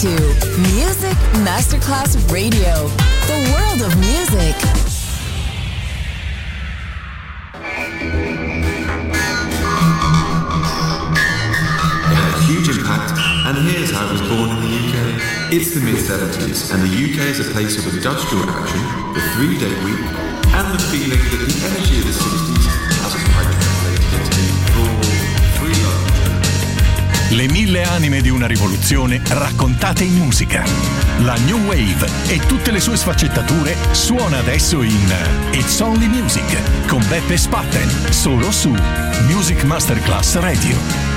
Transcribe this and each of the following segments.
to Music Masterclass Radio, the world of music. It had a huge impact, and here's how it was born in the UK. It's the mid-70s, and the UK is a place of industrial action, the 3-day week, and the feeling that the energy of the 60s hasn't quite translated into full free love. Le 1000 anime di una rivoluzione raccontate in musica. La New Wave e tutte le sue sfaccettature suona adesso in It's Only Music con Beppe Spatten, solo su Music Masterclass Radio.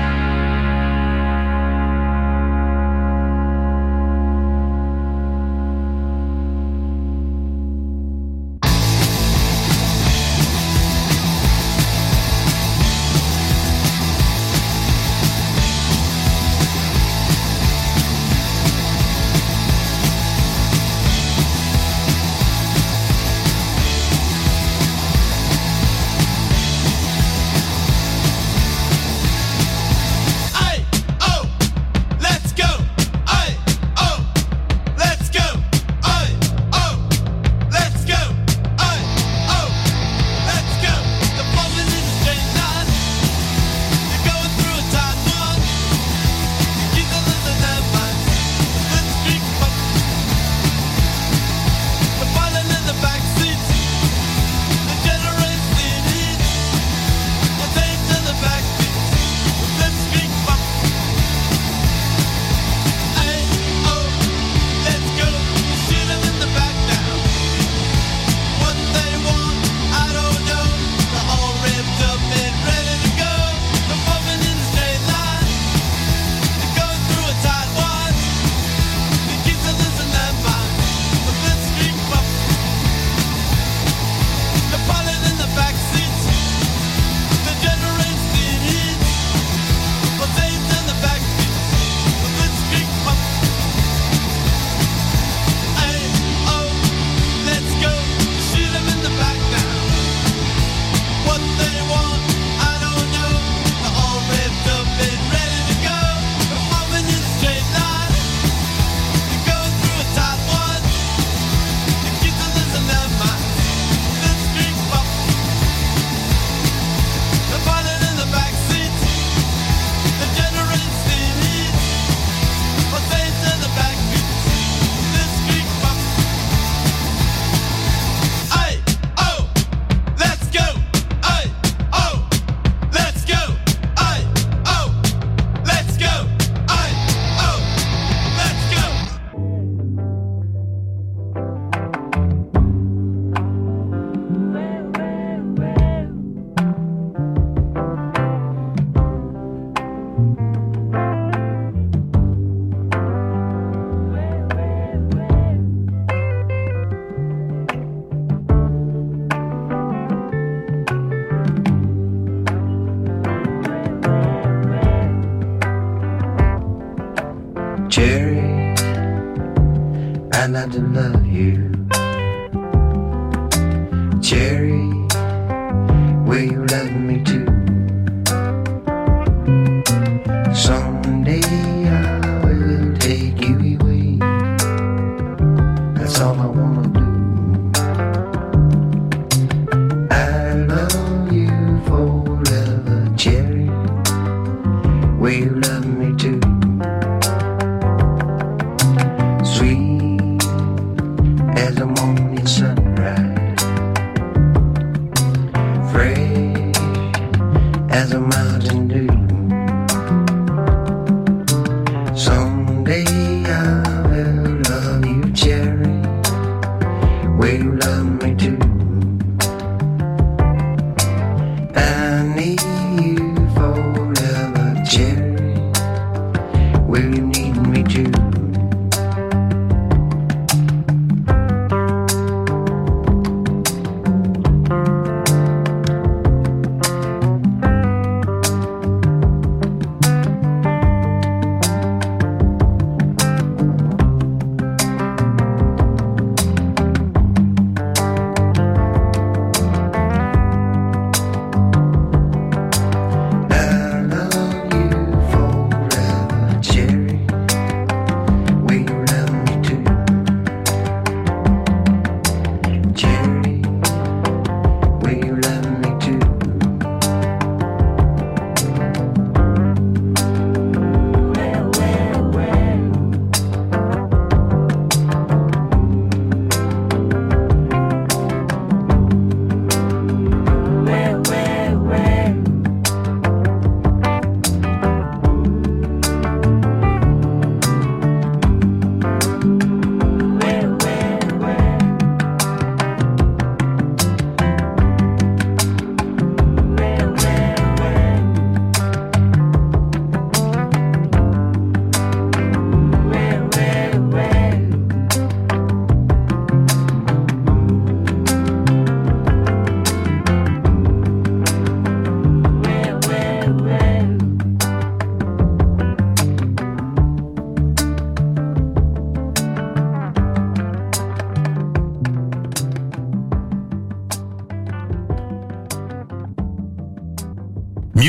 Cherry, I like to love you. Cherry, will you love me too? Someday I will take you away. That's all I wanna do. I love you forever, Cherry. Will you love me too? Sweet as a morning sunrise, fresh as a mountain dew. Someday I will love you, Cherry. Will you love me too? I need you forever, Cherry. Will you need me too? I love you forever, Cherry.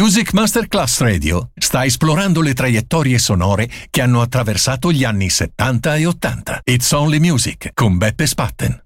Music Masterclass Radio sta esplorando le traiettorie sonore che hanno attraversato gli anni 70 e 80. It's Only Music con Beppe Spatten.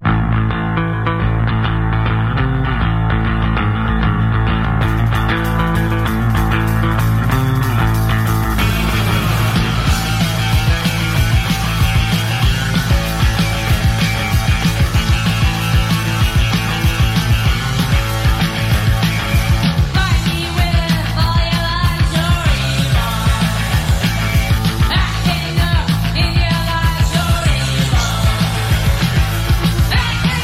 Hey!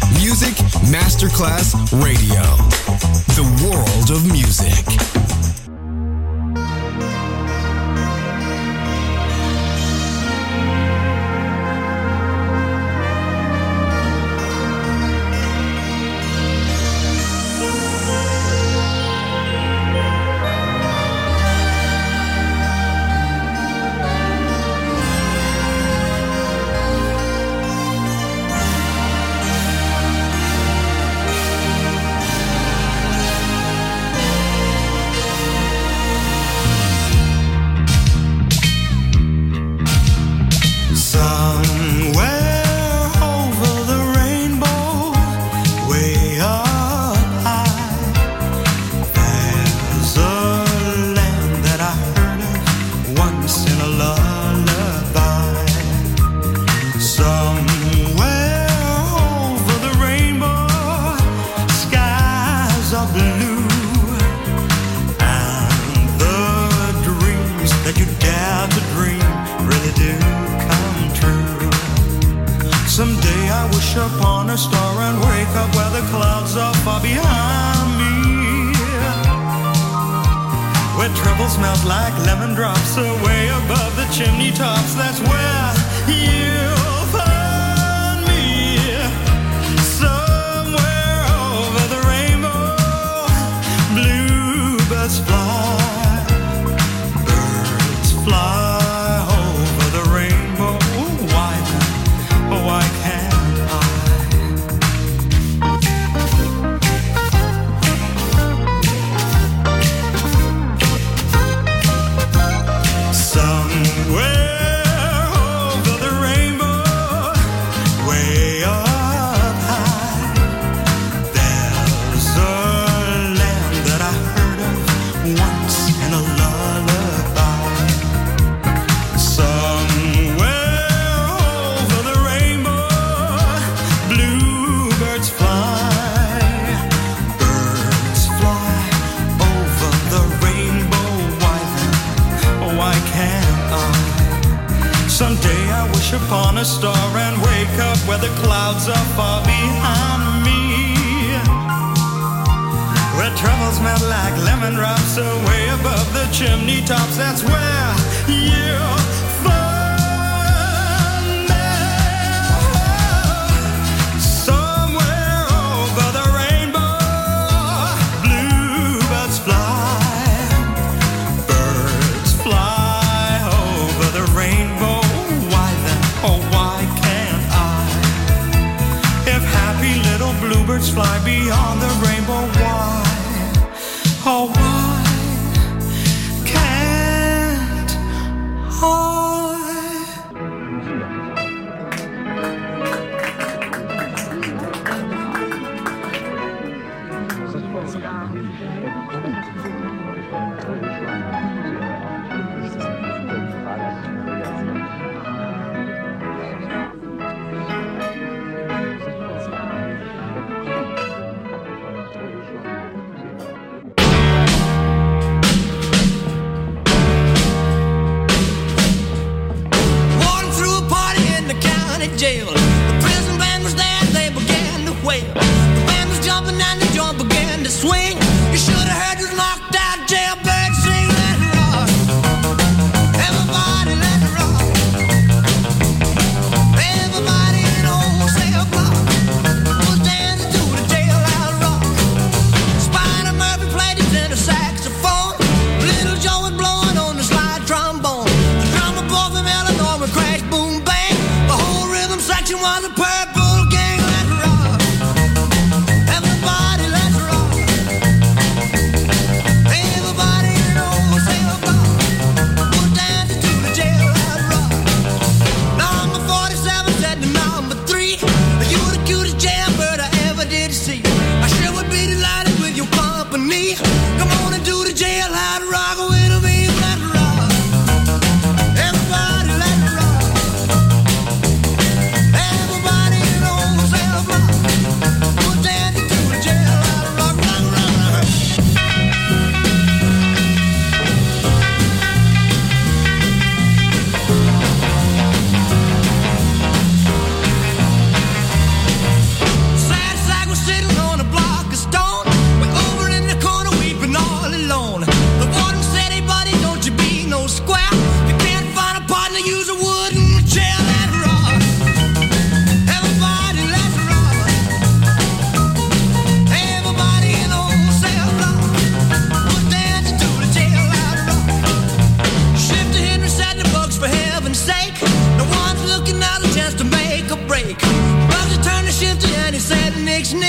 Music Masterclass Radio. The world of music.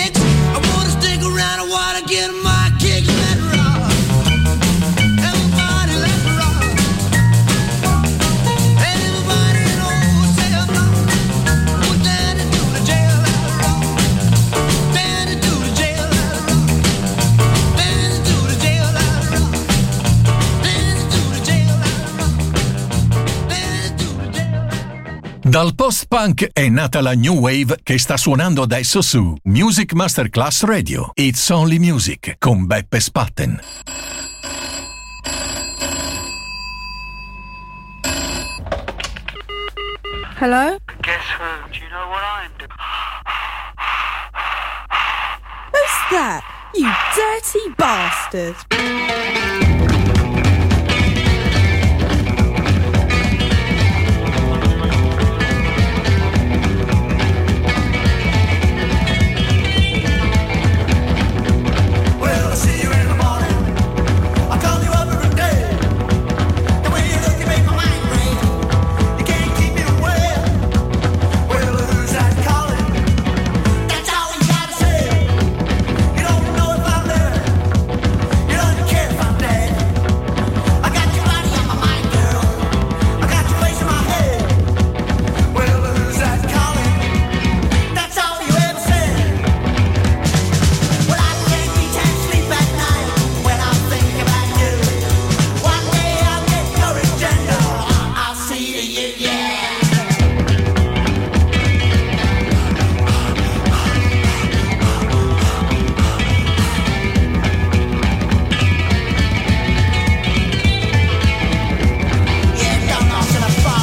dance. I wanna stick around, I wanna get my kick and let it rock. Everybody let it rock. Everybody knows they're not. We're down into the jail, let it rock. Down into the jail, let it rock. Down into the jail, let it rock. Down into the jail, let it rock. Down into the jail, let it rock. Dal post-punk è nata la New Wave che sta suonando adesso su Music Masterclass Radio. It's Only Music con Beppe Spatten. Hello? Guess who? Do you know what I'm doing? Who's that? You dirty bastard! Well, I'll see you in the morning. I'll call you up every day. The way you look, you make my mind break. You can't keep me away. Well, who's that calling? That's all you gotta say. You don't know if I'm there. You don't care if I'm dead. I got your body on my mind, girl. I got your face in my head. Well, who's that calling? That's all you ever said. Well, I can't beat and sleep at night when I think about you. One day I'll get courage and I'll see to you, yeah. Yeah, don't know till I fall.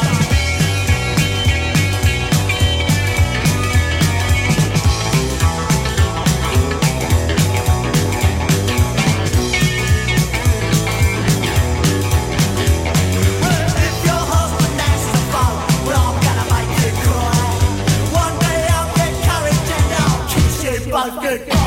Well, if your husband asks to follow, we're all gonna make you cry. One day I'll get courage and I'll kiss you both goodbye.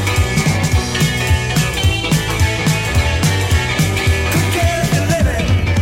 Could care if you're living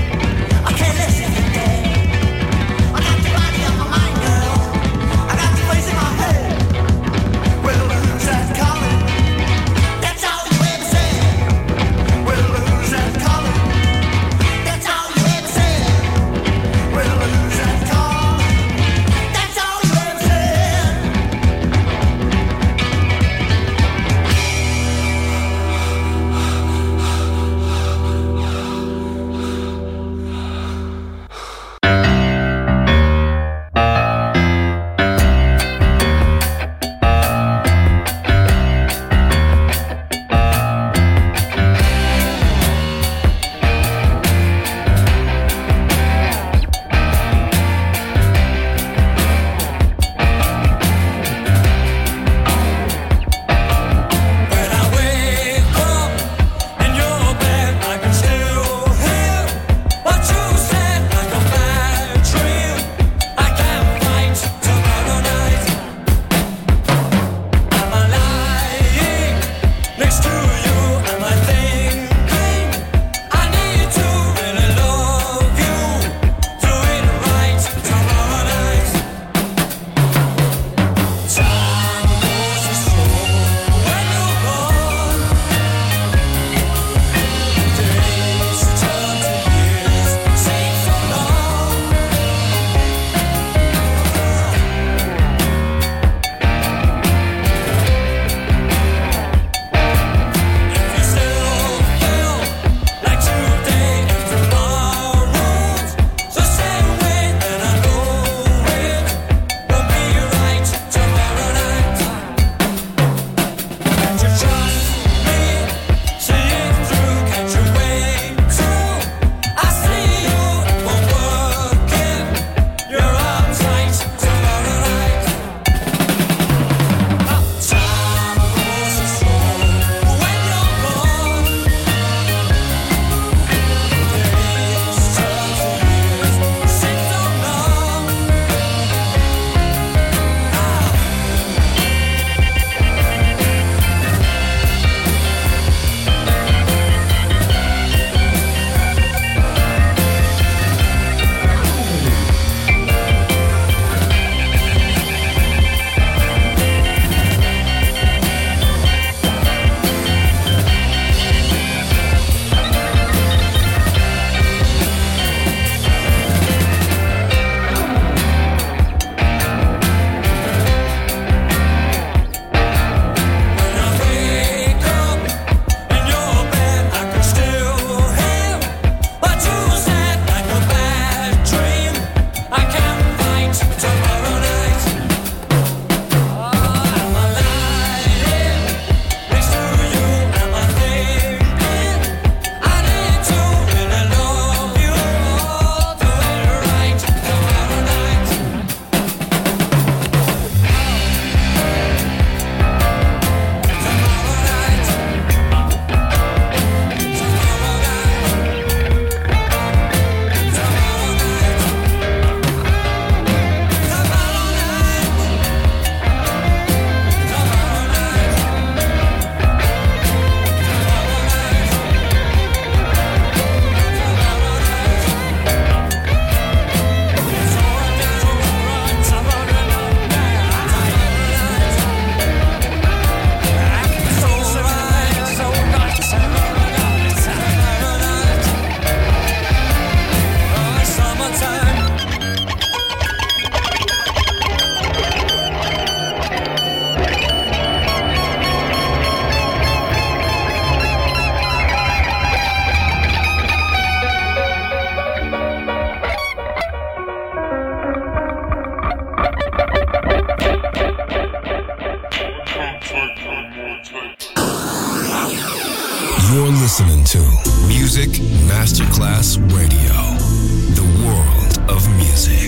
music. Masterclass Radio. The world of music.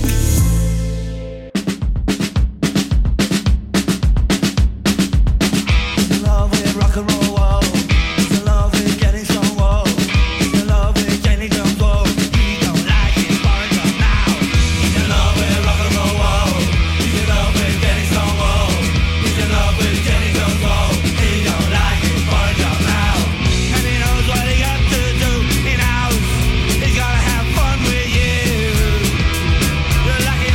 Love with rock and roll, whoa. It's love with getting strong, whoa. It's love with getting drunk, whoa. He don't like it, foreign drum now. He's in love with rock and roll, whoa. He's in love with getting strong, whoa. He's in love with getting drunk, whoa. He don't like it, foreign drum now. And he knows what he got to do. He knows he's gotta have fun with you. You're lucky.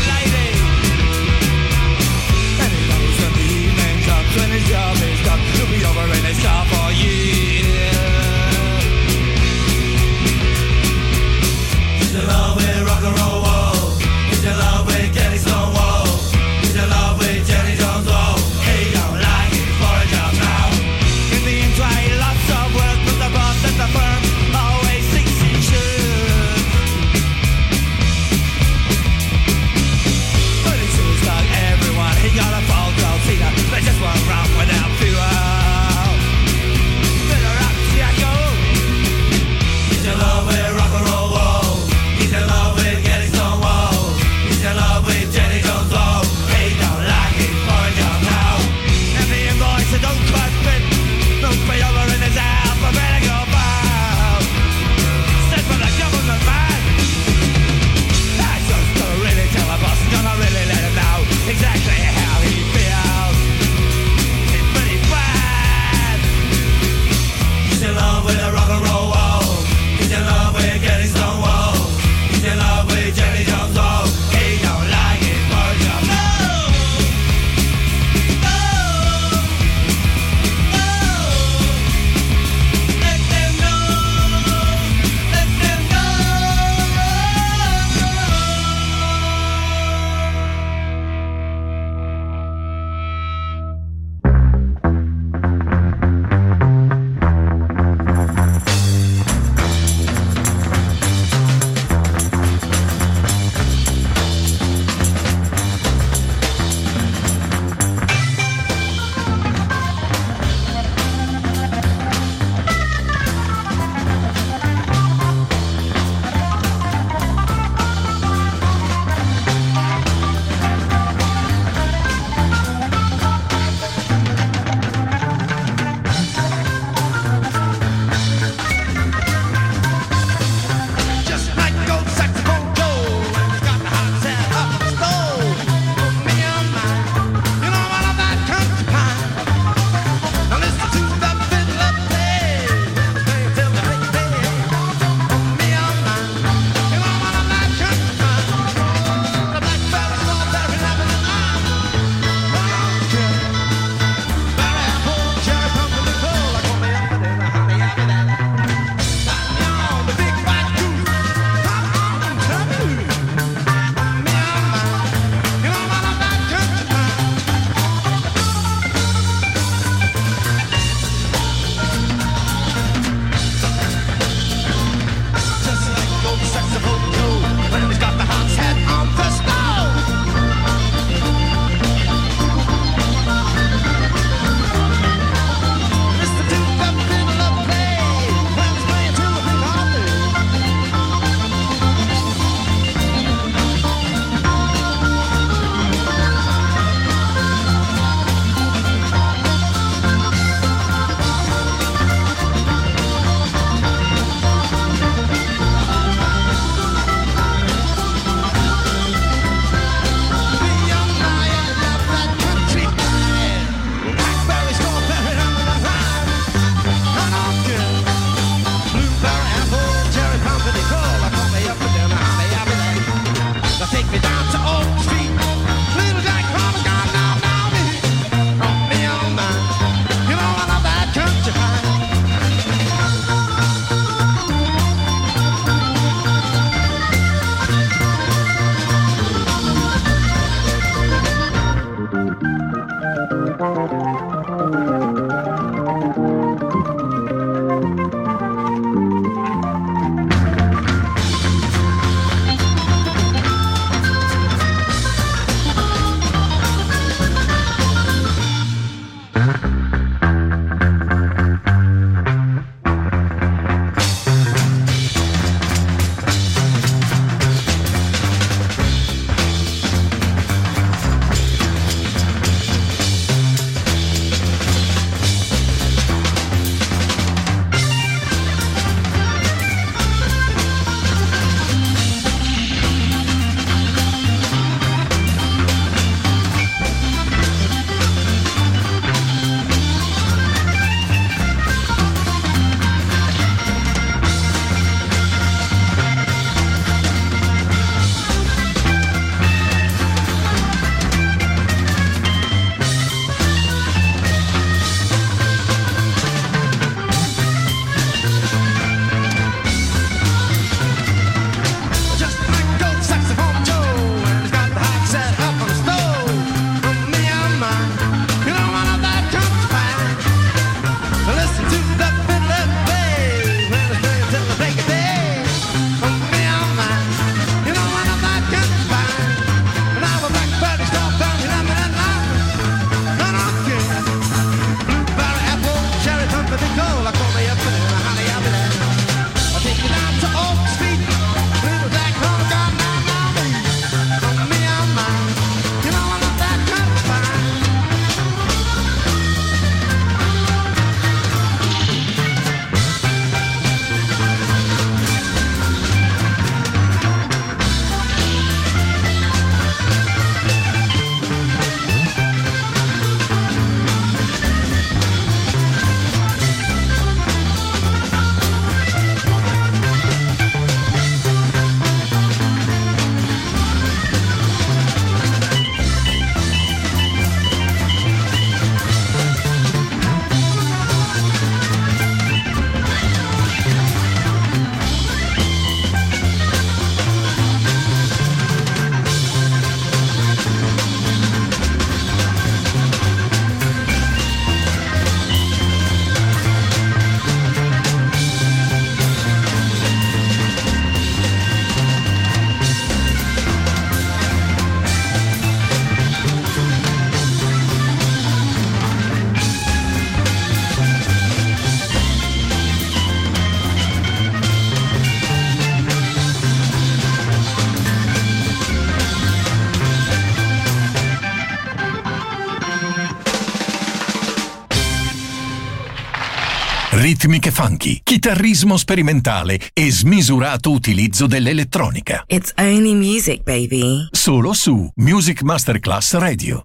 ritmiche funky, chitarrismo sperimentale e smisurato utilizzo dell'elettronica. It's only music, baby. Solo su Music Masterclass Radio.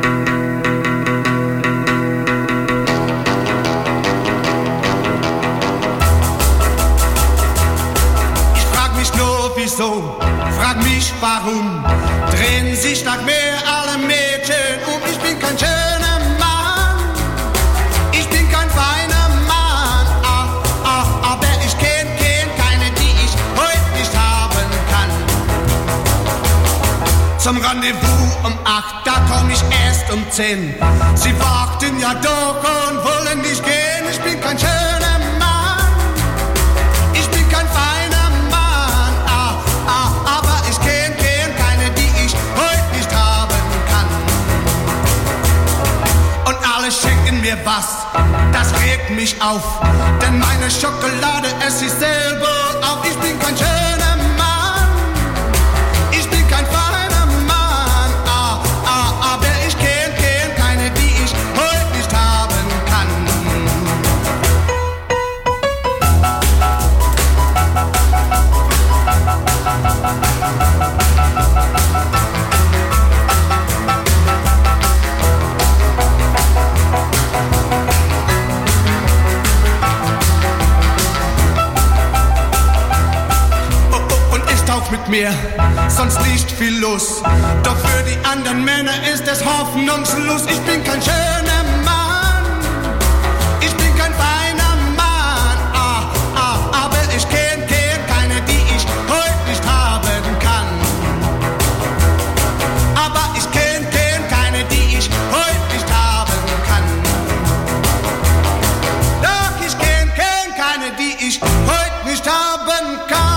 Ich frag mich nur wieso, frag mich warum, drehen sich nach mir alle Mädchen um. Ich bin kein schöner Mann, ich bin kein feiner Mann, aber ich kenn keine, die ich heute nicht haben kann. Zum Rendezvous um 8, da komm ich erst um 10. Sie warten ja doch und wollen nicht gehen. Ich bin kein schöner Mann, ich bin kein feiner Mann, aber ich kenn keine, die ich heute nicht haben kann. Und alle schenken mir was, das regt mich auf, denn meine Schokolade esse ich selber auf. Ich bin kein schöner Mann, ich bin kein feiner Mann, aber ich kenn keine, die ich heute nicht haben kann. Mit mir, sonst nicht viel los. Doch für die anderen Männer ist es hoffnungslos. Ich bin kein schöner Mann, ich bin kein feiner Mann, aber ich kenn keine, die ich heute nicht haben kann. Aber ich kenn keine, die ich heute nicht haben kann. Doch ich kenn keine, die ich heute nicht haben kann.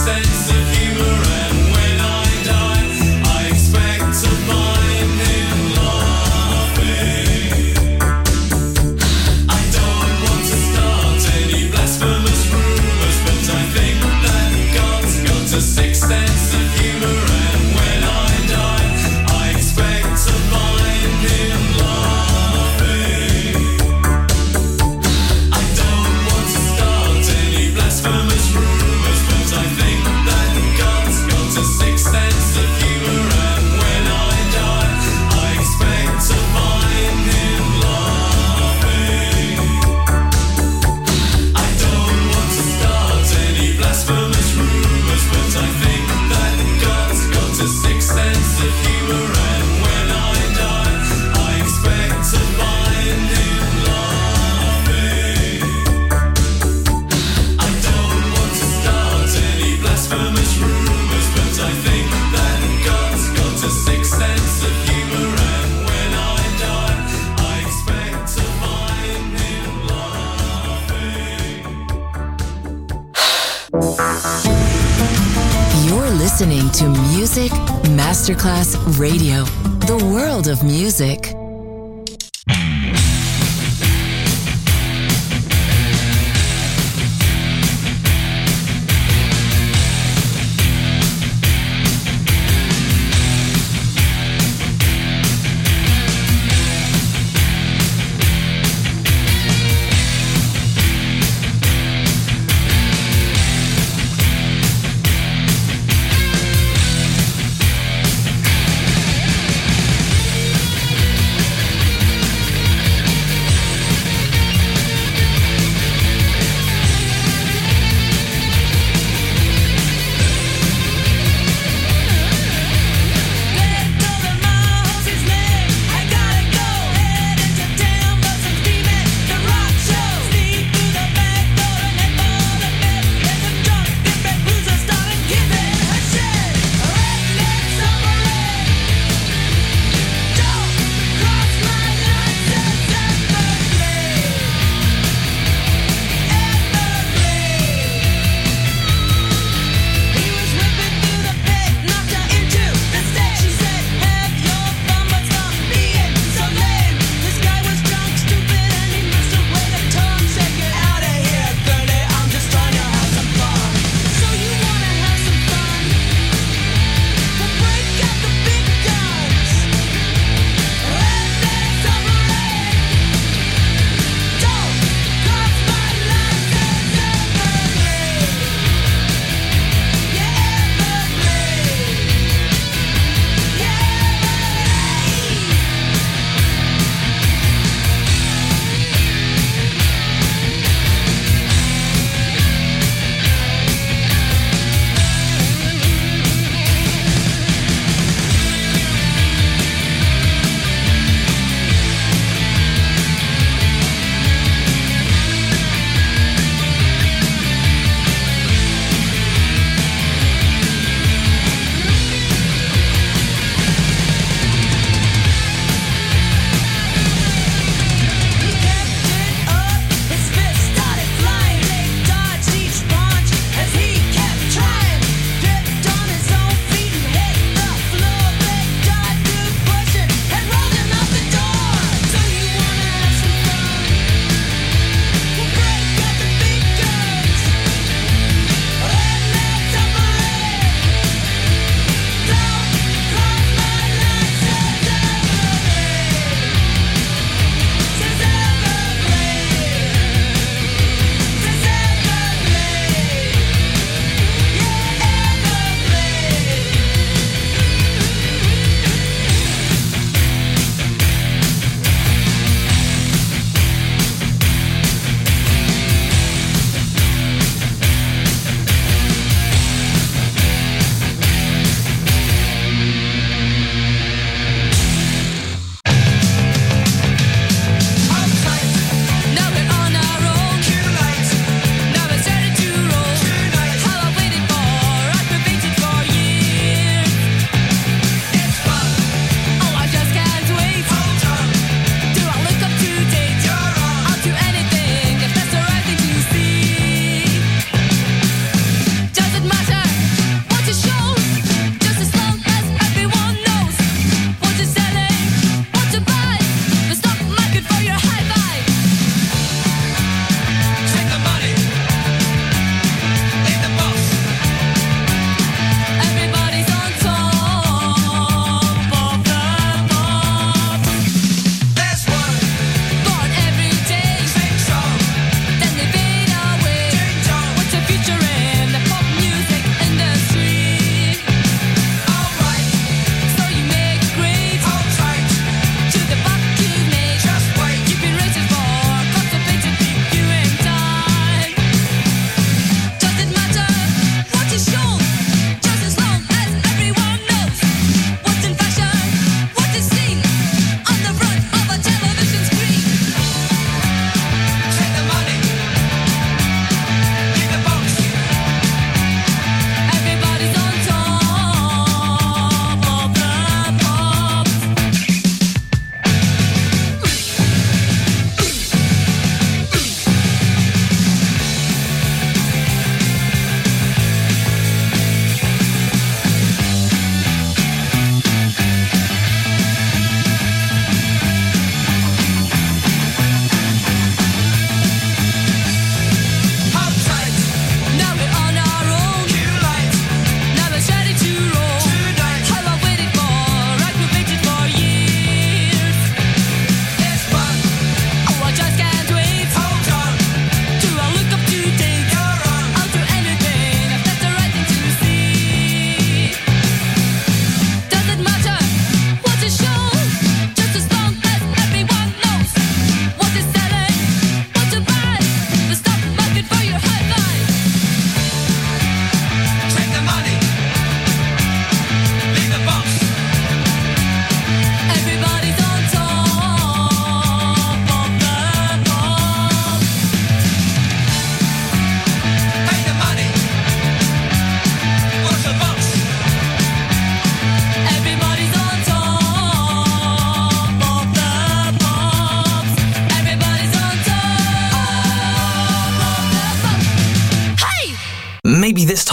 sense of humor, and when I die, I expect to find him laughing. I don't want to start any blasphemous rumors, but I think that God's got a sixth sense of humor, and when I die, I expect to find him laughing. I don't want to start any blasphemous rumors, but I think that God's got a sixth sense of humor, and when I die, I expect to find him laughing. I don't want to start any blasphemous rumors, but I think that God's got a sixth sense of humor, and when I die, I expect to find him laughing. I don't want to start any blasphemous rumors, but I think that God's got a sixth sense of humor, and when I die, I expect to find him laughing. You're listening to Music Masterclass Radio, the world of music.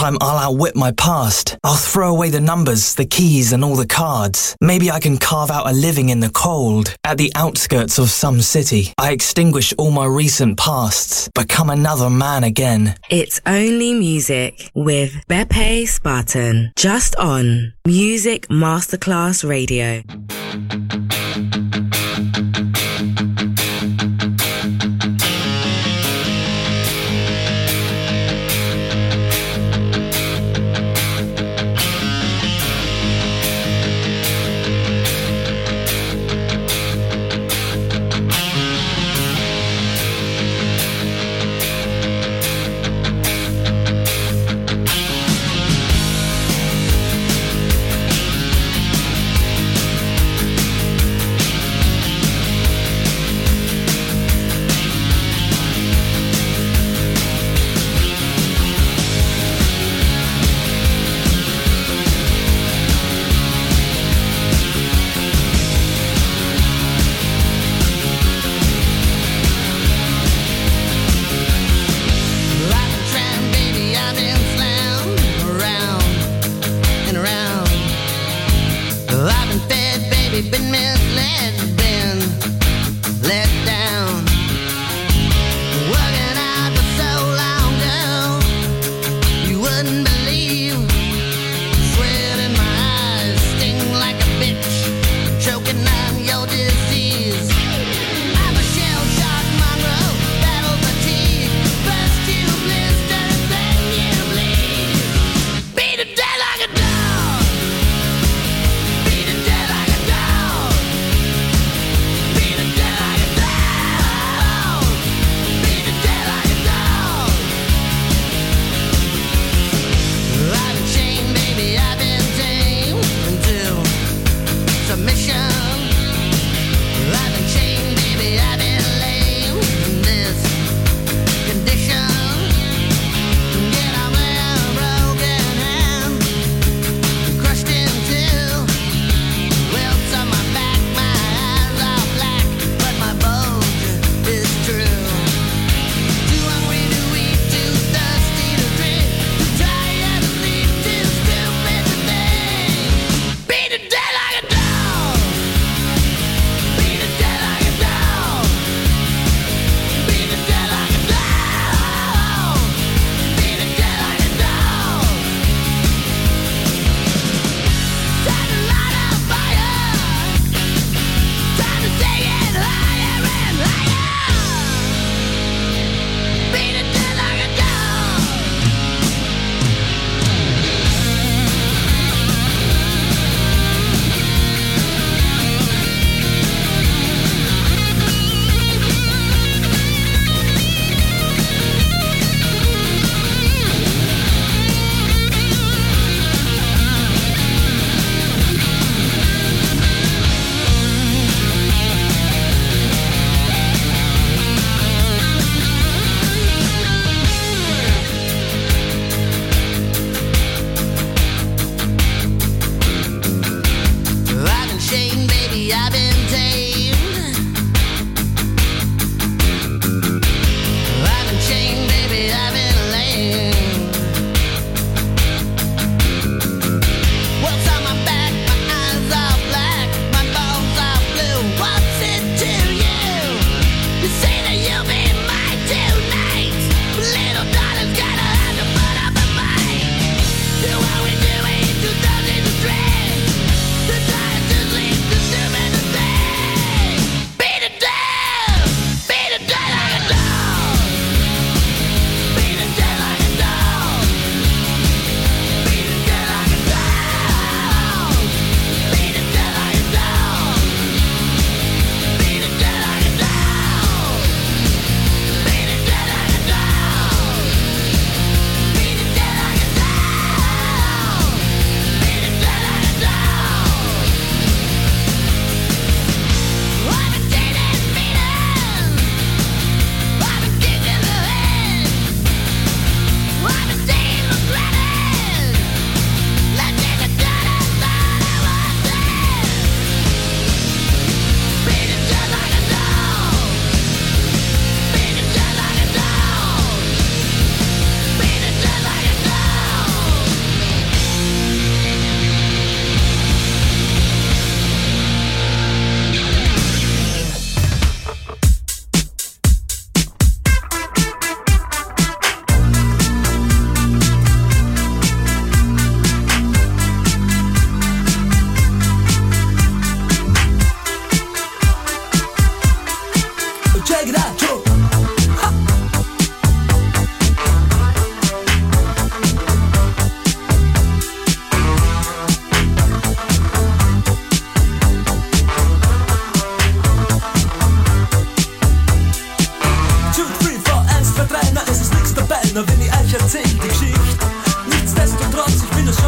time I'll outwit my past. I'll throw away the numbers, the keys and all the cards. Maybe I can carve out a living in the cold, at the outskirts of some city. I extinguish all my recent pasts, become another man again. It's Only Music with Beppe Spartan, just on Music Masterclass Radio.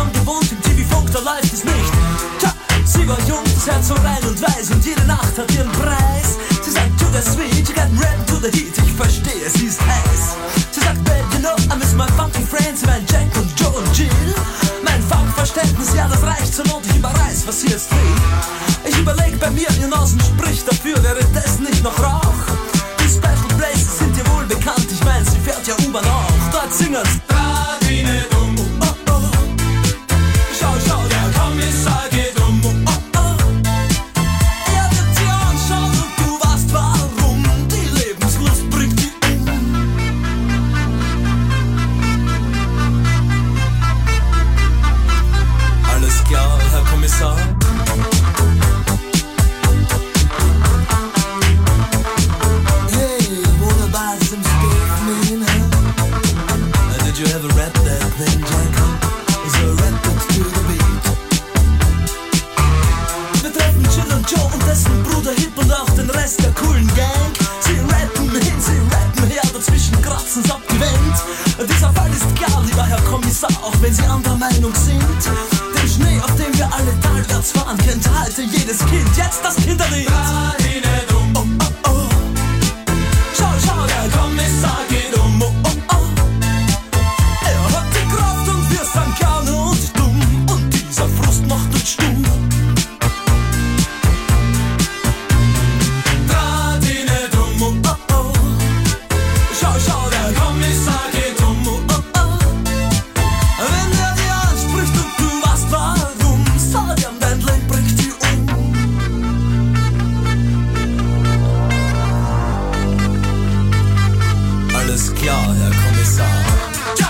Jahren gewohnt, im TV-Funk, da läuft es nicht. Tja, sie war jung, das Herz so rein und weiß und jede Nacht hat ihren Preis. Sie sagt, to the sweet, you got red to the heat, ich verstehe, sie ist heiß. Sie sagt, babe, you know, I miss my funky friends, mein Jack und Joe und Jill. Mein Funkverständnis, ja, das reicht zur Not, ich überreiß, was sie jetzt will. Ich überleg bei mir, ihr Nasen spricht dafür, wäre das nicht noch Rauch? Die Special Places sind dir wohl bekannt, ich mein, sie fährt ja U-Bahn auch. Dort singen's Radine dumm, oh oh. Schau, schau, der Kommissar geht um, oh oh. Er wird dir anschauen und du weißt warum, die Lebenslust bringt die Alles klar, Herr Kommissar. Did you ever rap that thing, Jack? Is a rap it to the beat? Wir treffen Jill und Joe und dessen Bruder Hip und auch den Rest der coolen Gang. Sie rappen hin, sie rappen her, dazwischen kratzen's ab die Wand. Dieser Fall ist klar, lieber Herr Kommissar, auch wenn Sie anderer Meinung sind. Den Schnee, auf dem wir alle talwärts fahren, kennt heute jedes Kind. Jetzt das Kinderlied. Oh, oh, oh. Schau, schau, der Kommissar geht um, oh, oh, oh. Gerne und dumm und dieser Frust macht uns stumm. Radine dumm, oh oh oh. Schau, schau, der Kommissar geht um, oh oh oh. Wenn er dir anspricht und du weißt warum, sag ihm, dein Leben bringt die Alles klar, Herr Kommissar. Ja.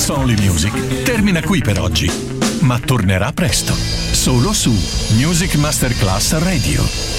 It's Only Music termina qui per oggi, ma tornerà presto, solo su Music Masterclass Radio.